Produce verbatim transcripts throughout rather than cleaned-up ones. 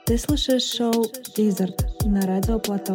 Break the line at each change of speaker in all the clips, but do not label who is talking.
Ты слушаешь шоу «Лизард» на Радио Плато.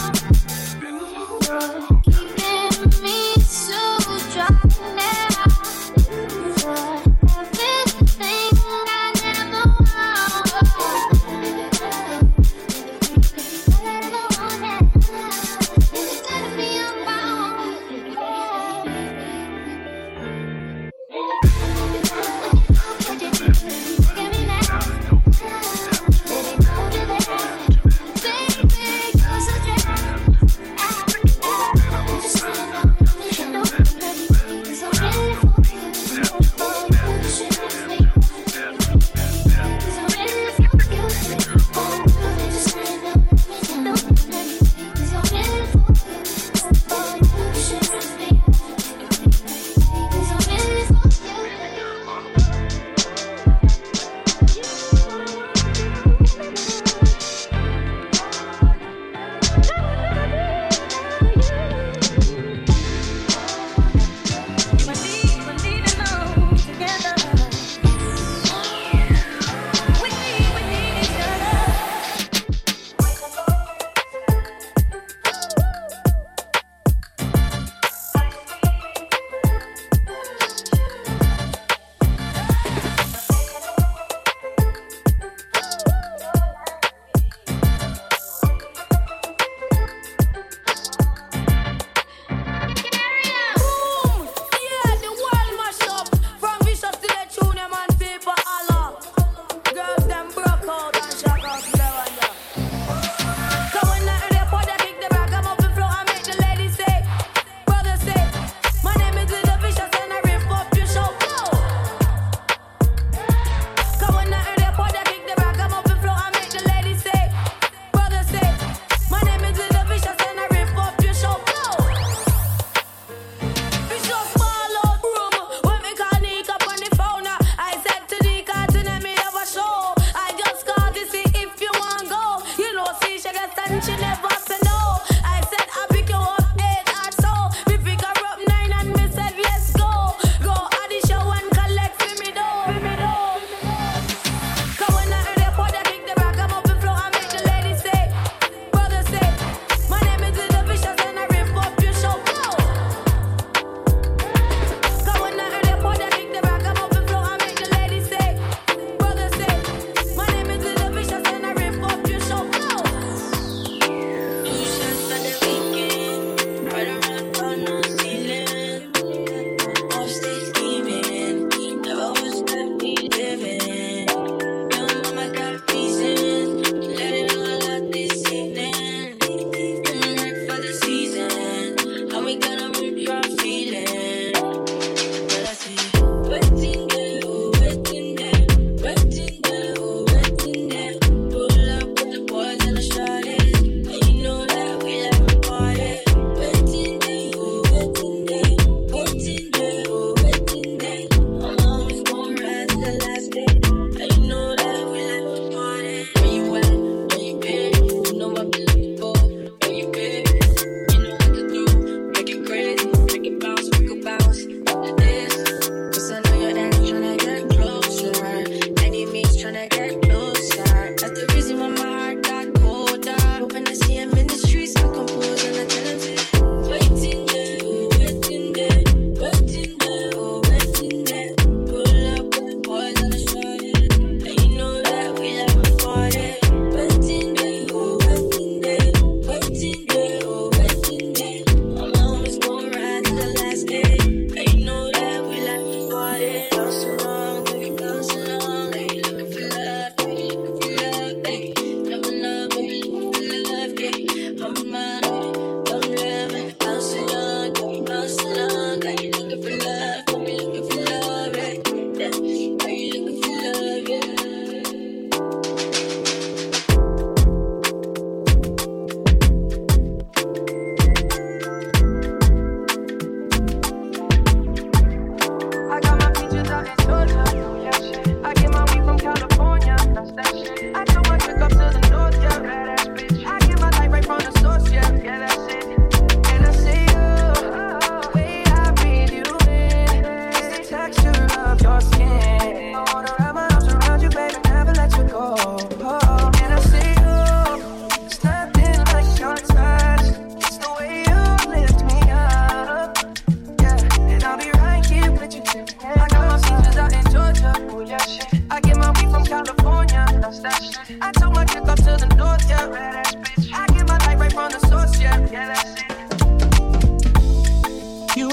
Keeping me so dry now.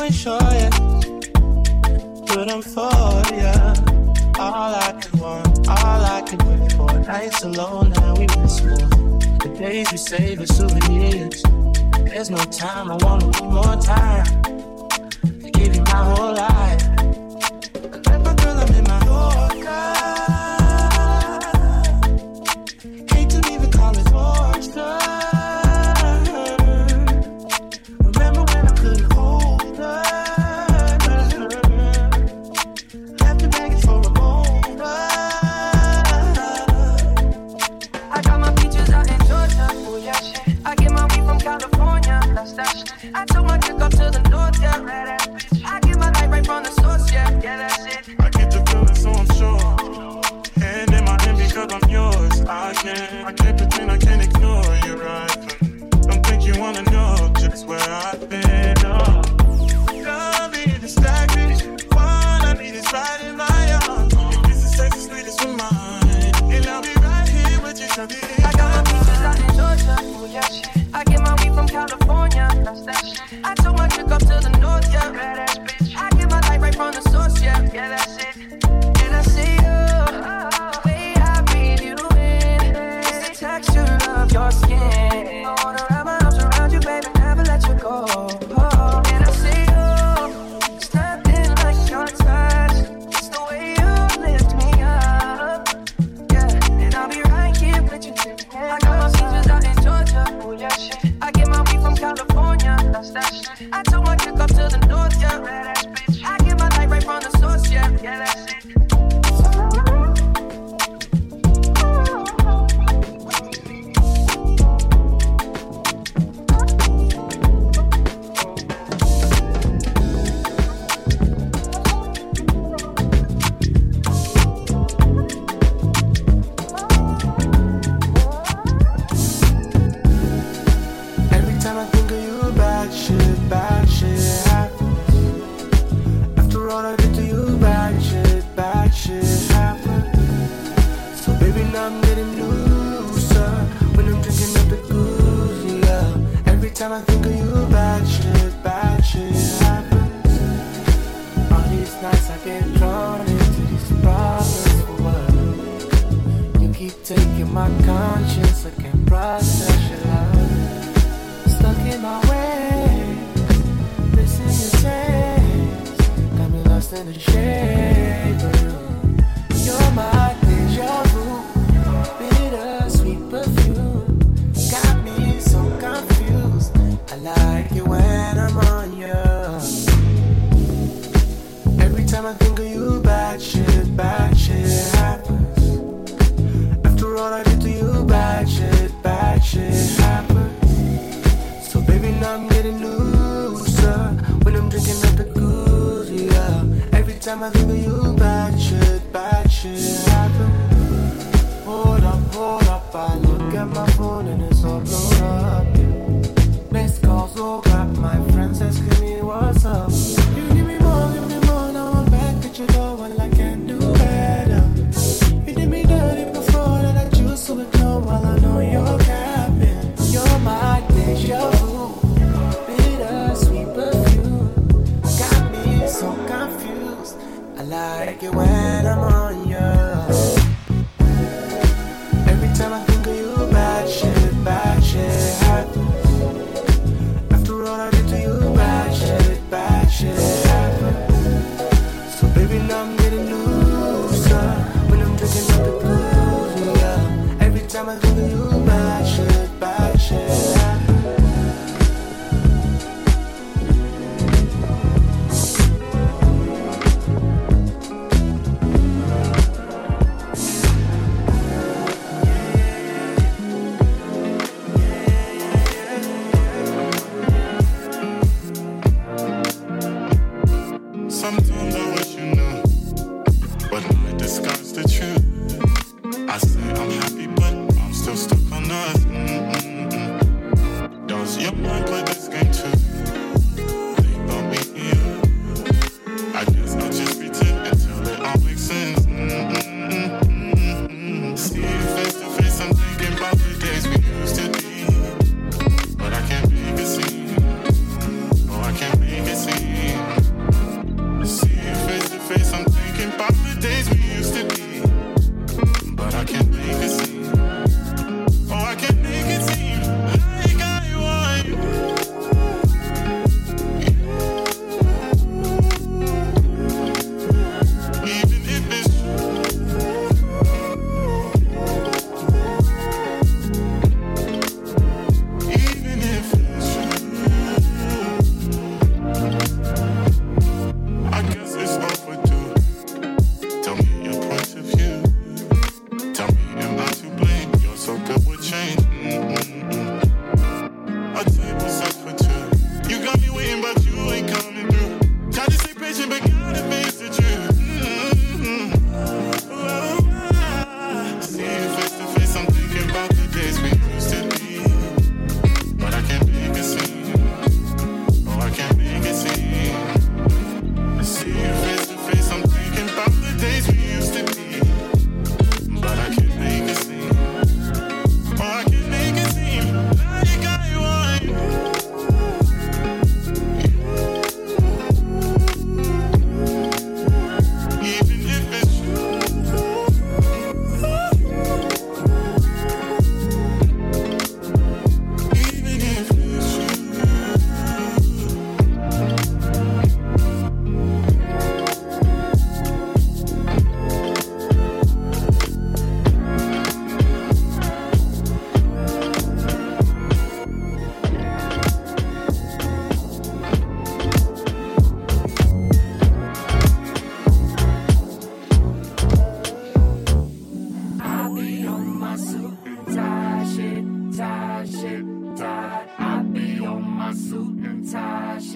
ain't sure yet, but I'm for ya. All I could want, all I could wait for. Nights alone, now we miss more. The days we save as souvenirs. There's no time, I wanna need more time to give you my whole life. I left my girl, I'm in my Yorker. Hate to even call it torture. Remember when I couldn't hold her? Left the baggage for a moment.
I got my beaches out in Georgia, oh yeah shit. I get my weed from California, that's that shit. I took my chick up to the north, yeah, right ass bitch. I get my light right from the source, yeah, yeah, that's it.
I get the feeling, so I'm sure. Hand in my hand because I'm yours. I can't, I can't pretend, I can't ignore you, right? Don't think you wanna know just where I've been. Oh, don't be distracted. All I need is right in my arms. This is sex, sweet as mine, and I'll be right here with you till the end.
I got my beaches out in Georgia, oh yeah shit. I get my weed from California, that's that shit. I took my chick up to the north, yeah, red ass bitch. I get my light right from the source, yeah, yeah, that's it. And I see you, the way I breathe you in, it's the texture of your skin. I wanna wrap my arms around you, baby, never let you go. Oh, and I see you, it's nothing like your touch. It's the way you lift me up, yeah. And I'll be right here with you till the end. I got my beaches out in Georgia, oh yeah shit. I get my weed from California, that's that shit. I took my chick up to the north, yeah, red ass bitch. I get my light right from the source, yeah, yeah, that's it.
Every time I think of you, bad shit, bad shit happens. After all I did to you, bad shit, bad shit happens. So baby, now I'm getting looser when I'm drinking up the goose, yeah. Every time I think of you, bad shit, bad shit happens. All these nights I get drawn into these problems for what? You keep taking my conscience, I can't process your love. Stuck in my way, missing your taste. Got me lost in the shape of you. You're my deja vu, bitter sweet perfume. Got me so confused. I like it when I'm on you. Every time I think of you, bad shit, bad shit happens. After all I did to you, bad shit, bad shit happens. So baby, now I'm getting looser when I'm drinking up the goose, yeah. Every time I think of you, bad shit, bad shit happens. Hold up, hold up, I look at my phone and it's all blown up, yeah. Missed calls, oh God, my friends asking me what's up. You give me more, give me more, now I'm back at your door, well I can do better. You did me dirty before, that I choose to ignore while I know you're capping. You're my deja vu, bitter sweet perfume. Got me so confused. I like it when I'm on you. Every time I think of you, bad shit, bad shit happens. After all I did to you, bad shit, bad shit happens. So baby, now I'm getting looser when I'm drinking up the booze, yeah. Every time I think of you, bad shit, bad shit happens.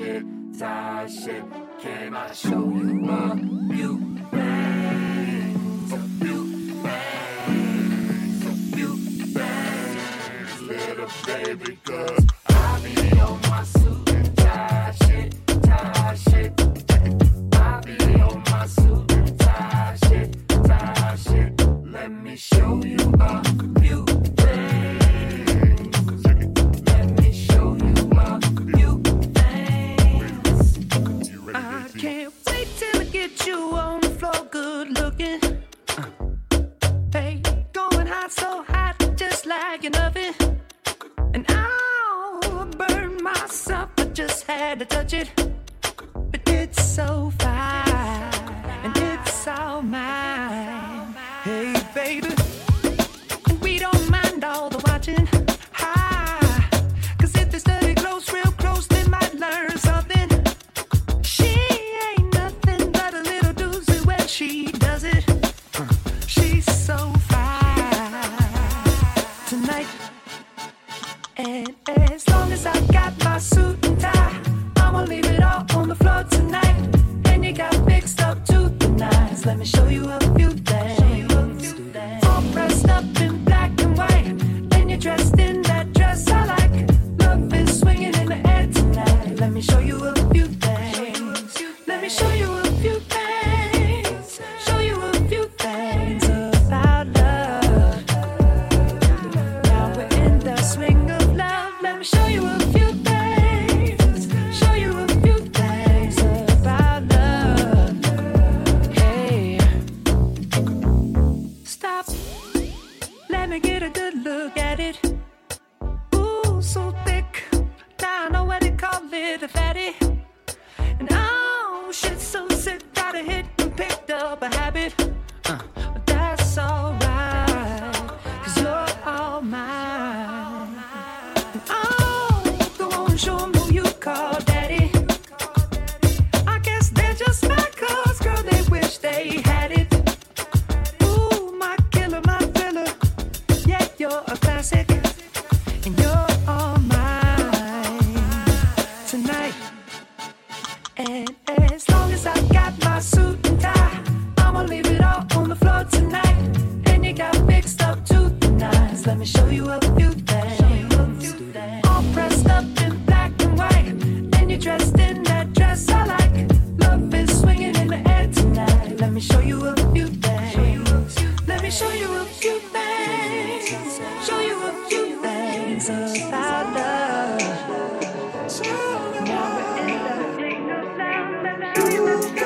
shit, tight shit. Can I show you a few things? A few things, a few things, little baby, cause I be on my suit and tie shit, tie shit. I be on my suit and tie shit, tie shit. Let me show you a few things. Let me show you a few things. I can't wait till I get you on the floor, good looking. Uh. Hey, going hot, so hot, just like an oven. And I'll burn myself, I just had to touch it. But it's so fine, and it's all mine. Hey, baby, we don't mind all the watching. Hi, cause if they study close, real close, they might learn something. She ain't nothing but a little doozy when she does it. She's so fine tonight. And as long as I got my suit and tie, I'ma leave it all on the floor tonight. And you got mixed up to the nines. Let me show you a few things. All dressed up in black and white, and you're dressed in that dress I like. Love is swinging in the air tonight. Let me show you a few things. Let me show you a few things. Show you a few things about love. Now we're in the swing of love. Let me show you a few things. Show you a few things about love. Hey, stop. Let me get a good look at it. Ooh, so thick. Now I know what they call it, a fatty. And oh, shit, so sick. Got a hit and picked up a habit. Uh, but that's alright, cause you're all mine. And oh, go on, show 'em who you call daddy. I guess they're just mad cause, girl, they wish they had it. Ooh, my killer, my thriller. Yeah, you're a classic. And you're all mine tonight. And as long as I got my suit and tie, I'ma leave it all on the floor tonight. And you got mixed up to the nines. Let me show you a few things. All pressed up in black and white, and you're dressed in that dress I like. Love is swinging in the air tonight. Let me show you a few things. Let me show you a few things. Show you a few things about love. Now we're in the swing of love. Let me show you a few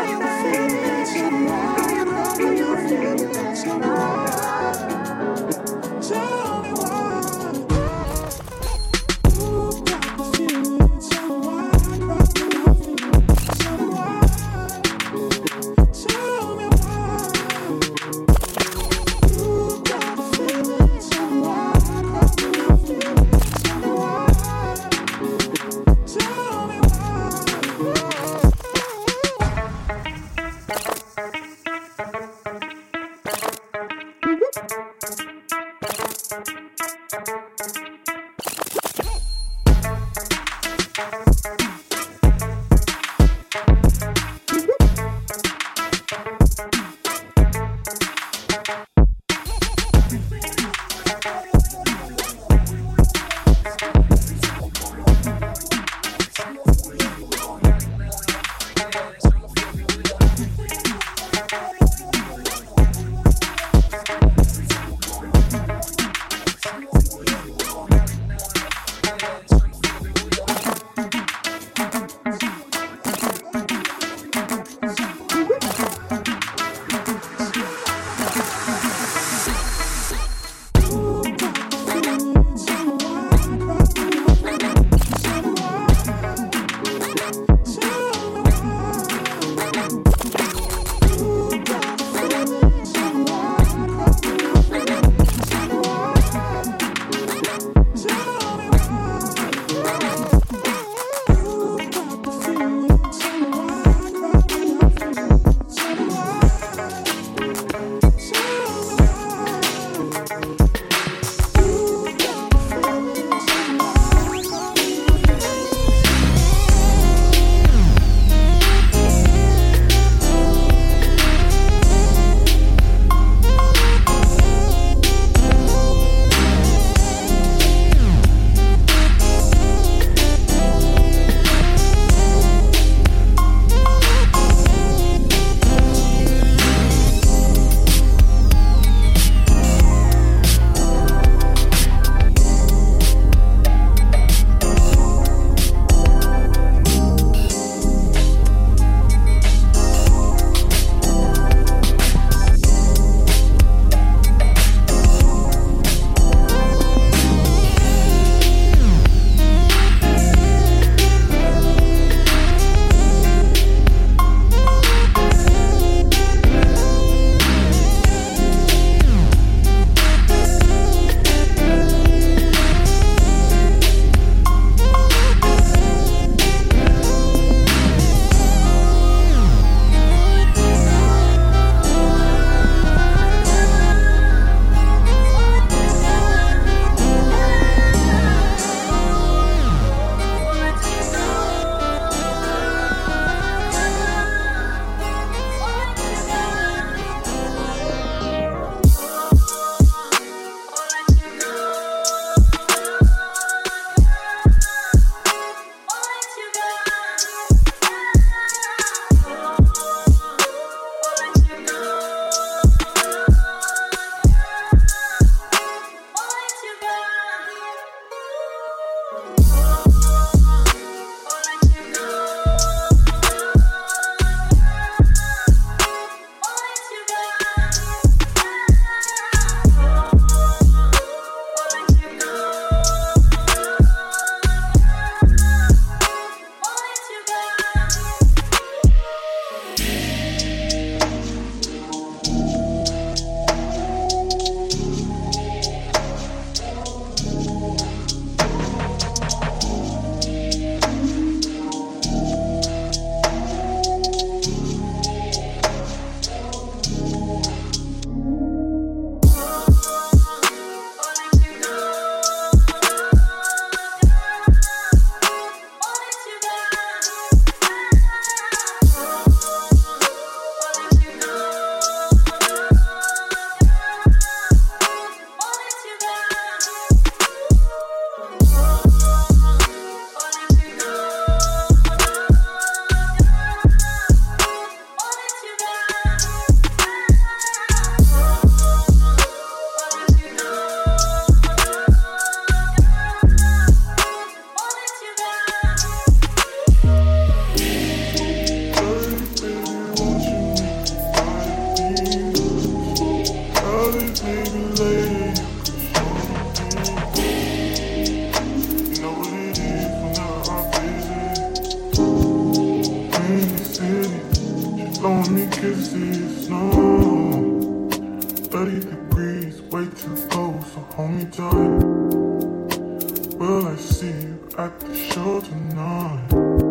blowing me kisses, no. thirty degrees, way too cold, so hold me tight. Will I see you at the show tonight?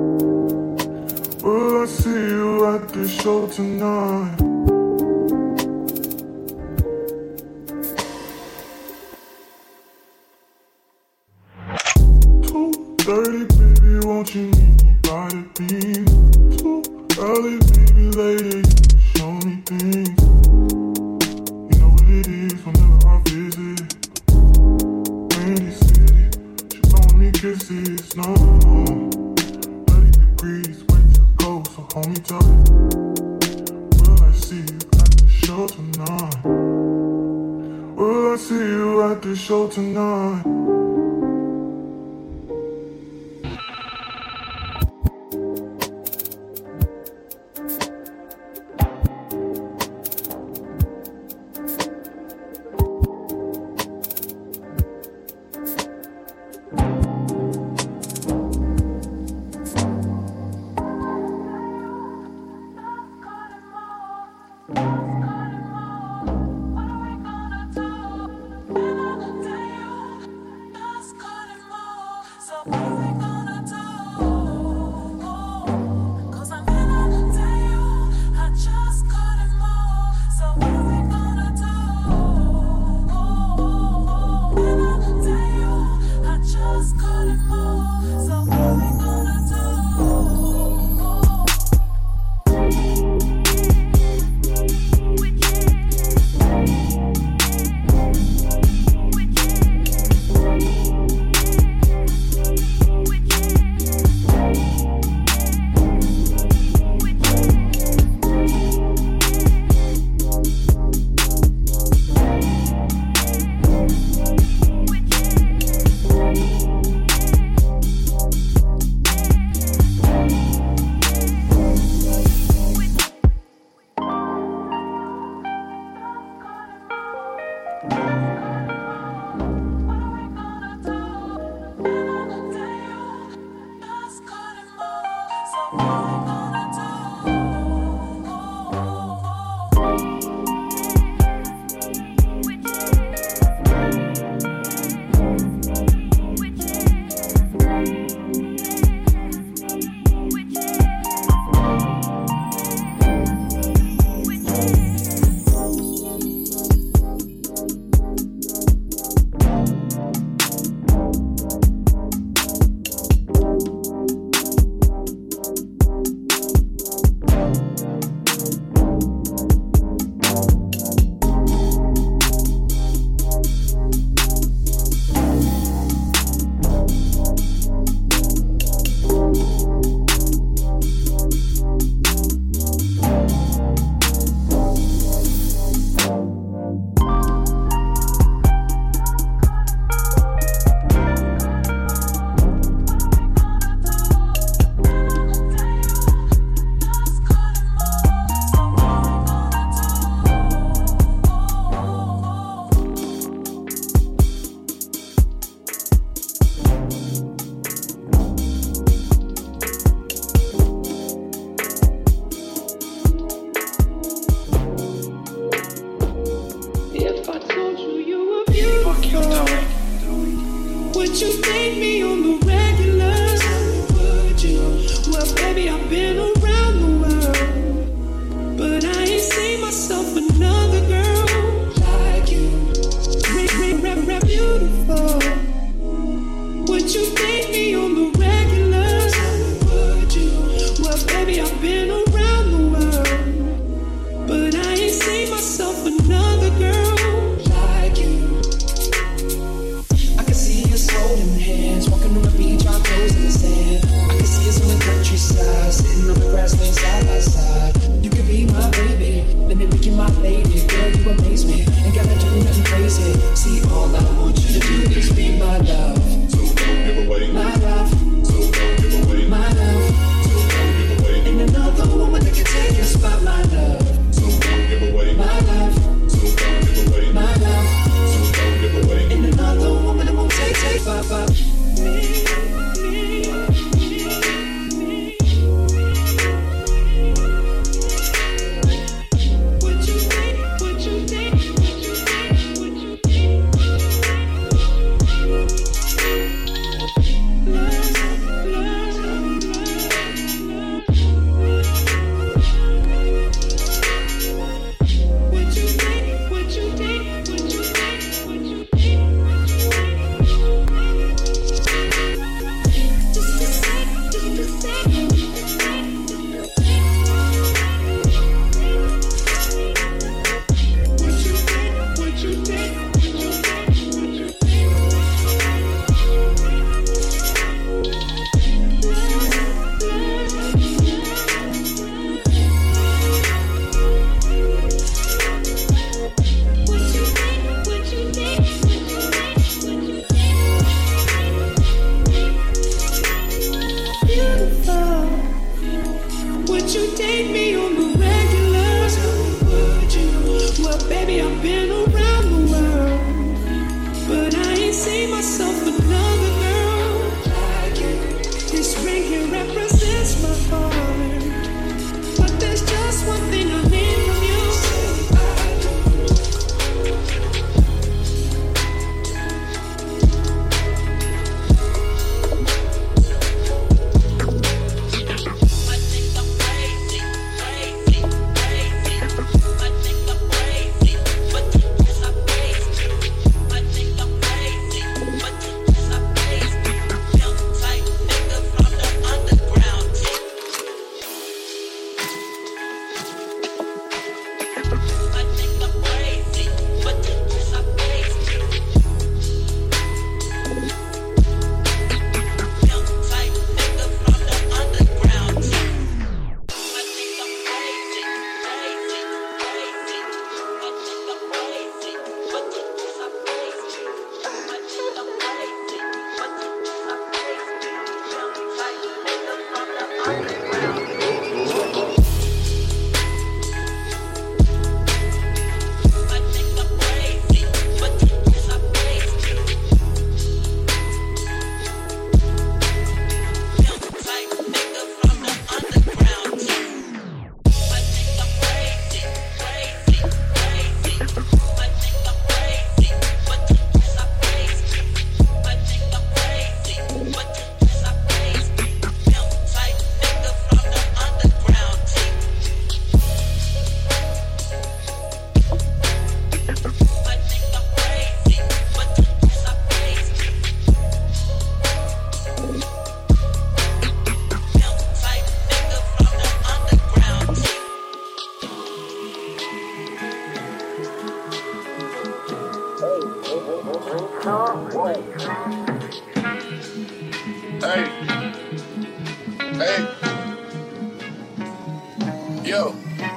Will I see you at the show tonight? two thirty, baby, won't you meet me by the beam? Too early, maybe later, you can show me things. You know what it is whenever I visit Windy City, she blowing me kisses, no. thirty degrees, way too cold, so hold me tight. Will I see you at the show tonight? Will I see you at the show tonight?
Yo.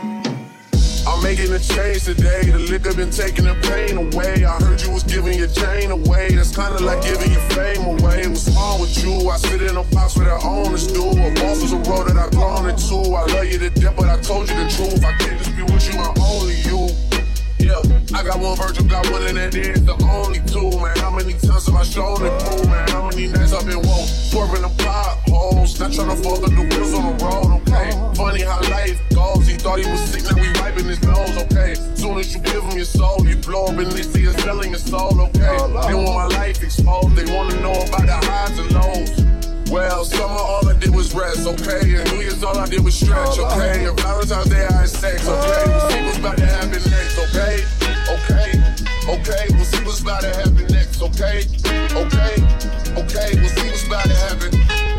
I'm making a change today. The liquor been taking the pain away. I heard you was giving your chain away. That's kinda like giving your fame away. What's wrong with you? I sit in a box where the owners do. A boss is a road that I've grown into. I love you to death, but I told you the truth. I can't just be with you, I'm only you. Yeah, I got one Virgil, got one, and that is the only two, man. How many times have I shown it through, man? How many nights I've been woke, swerving the potholes, not trying to fuck up the wheels on the road, okay? Funny how life goes, he thought he was sick, now we wiping his nose, okay? Soon as you give him your soul, you blow up and they see us selling your soul, okay? They want my life exposed, they wanna know about the highs and lows. Well, summer all I did was rest, okay? And New Year's all I did was stretch, okay? And Valentine's Day I had sex, okay? We'll see what's about to happen next, okay? Okay, okay, we'll see what's about to happen next, okay? Okay, okay, we'll see what's about to happen.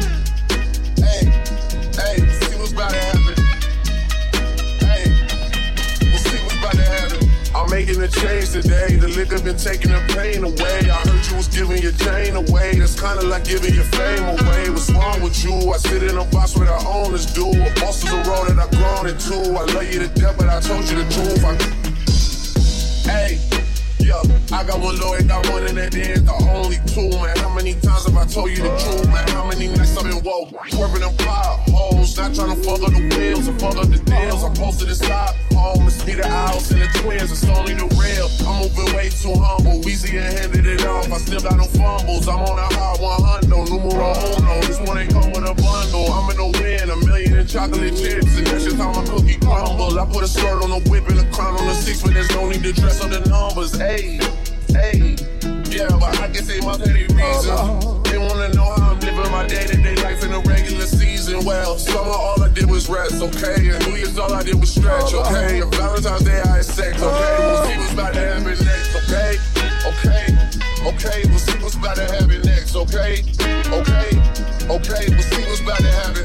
Hey, hey, we'll see what's about to happen. Hey, we'll see what's about to happen. I'm making a change today. The liquor been taking the pain away. I heard you was giving your chain away. That's kinda like giving your fame away. What's wrong with you? I sit in a box where the owners do. A boss is a road that I've grown into. I love you to death, but I told you the truth. I... Hey, yeah, I got one lawyer, got one, and that is the only two, man. How many times have I told you the truth, man? How many nights I've been woke, swerving them potholes, not trying to fuck up the wheels and fuck up the deals. I'm posted inside home, it's me, the owls, and the twins, it's only the real. I'm moving way too humble, Weezy and handed it off, I still got no fumbles. I'm on a hot one hundred, numero uno, this one ain't come with a bundle. I'm in the win, a million in chocolate chips, and that's just how my cookie crumble. I put a skirt on the whip and a crown on the six, but there's no need to dress on the numbers. Hey, hey, yeah, but I can say my petty reasons. They wanna know how I'm living my day-to-day life in a regular season. Well, summer all I did was rest, okay? And New Year's all I did was stretch, okay? And Valentine's Day I had sex, okay? We'll see what's about to happen next, okay? Okay, okay, we'll see what's about to happen next, okay? Okay, okay, we'll see what's about to happen.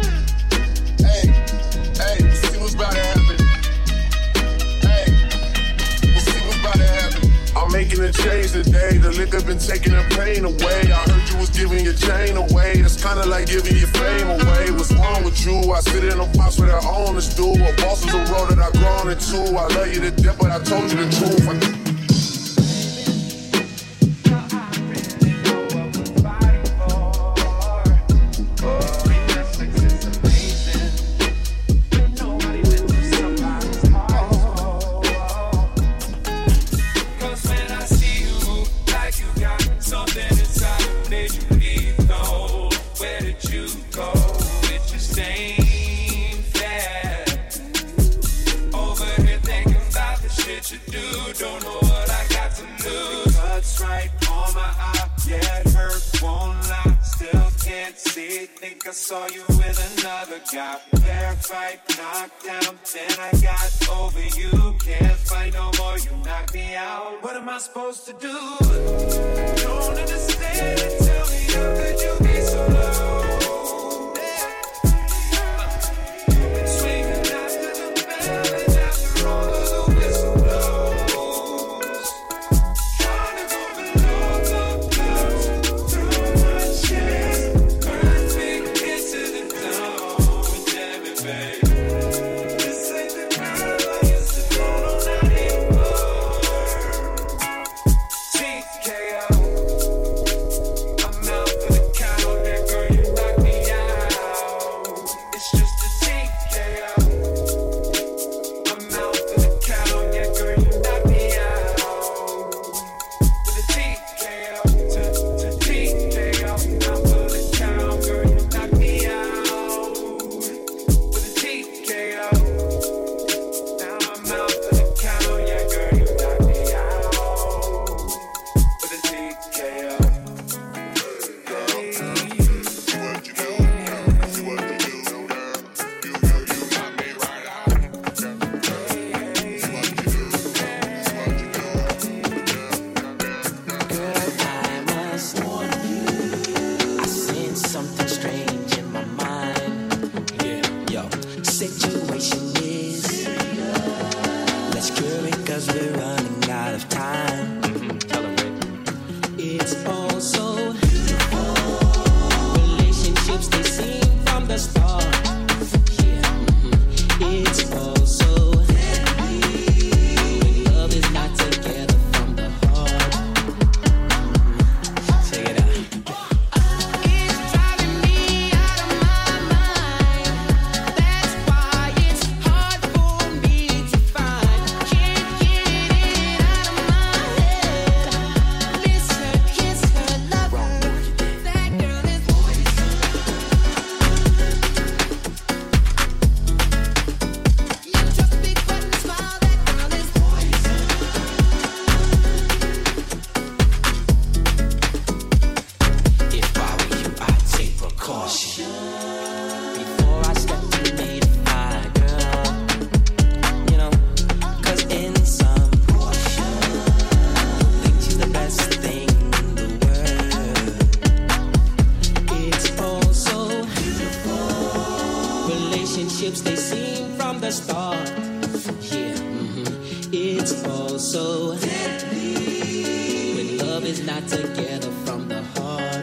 Hey, hey, we'll see what's about to happen. I'm making a change today. The liquor been taking the pain away. I heard you was giving your chain away. That's kinda like giving your fame away. What's wrong with you? I sit in a box where the owners do. A boss is a road that I've grown into. I love you to death, but I told you the truth. I
I saw you with another guy. Fair fight, knocked down, then I got over you. Can't fight no more, you knocked me out. What am I supposed to do? Don't understand it, tell me how could you be so low?
It's relationships, they seem from the start. Yeah, mm-hmm. It's all so deadly when love is not together from the heart.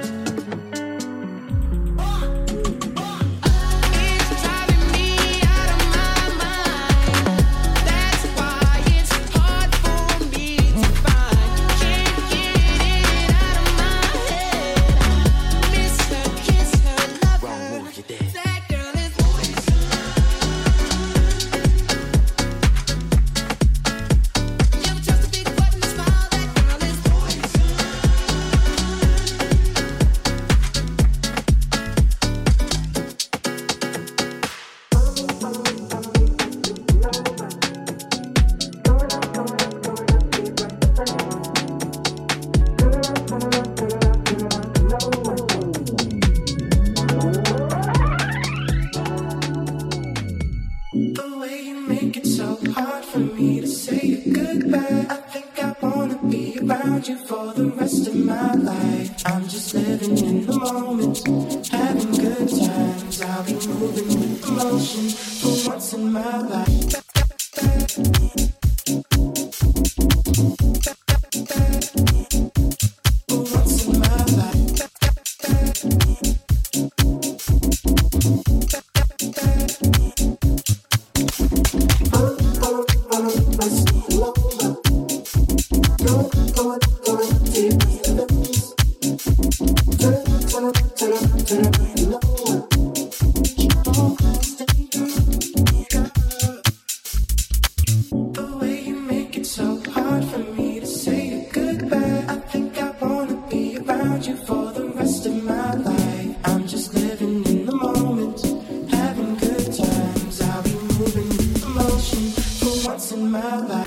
You for the rest of my life. I'm just living in the moment, having good times. I'll be moving with emotion for once in my life. For once in my life. Oh, oh, oh, I see love. Go, go, go, deep in the peace. Turn, turn, turn, turn, turn, lower. Keep on staying good. The way you make it so hard for me to say goodbye. I think I wanna be around you for the rest of my life. I'm just living in the moment, having good times. I'll be moving with emotion for once in my life.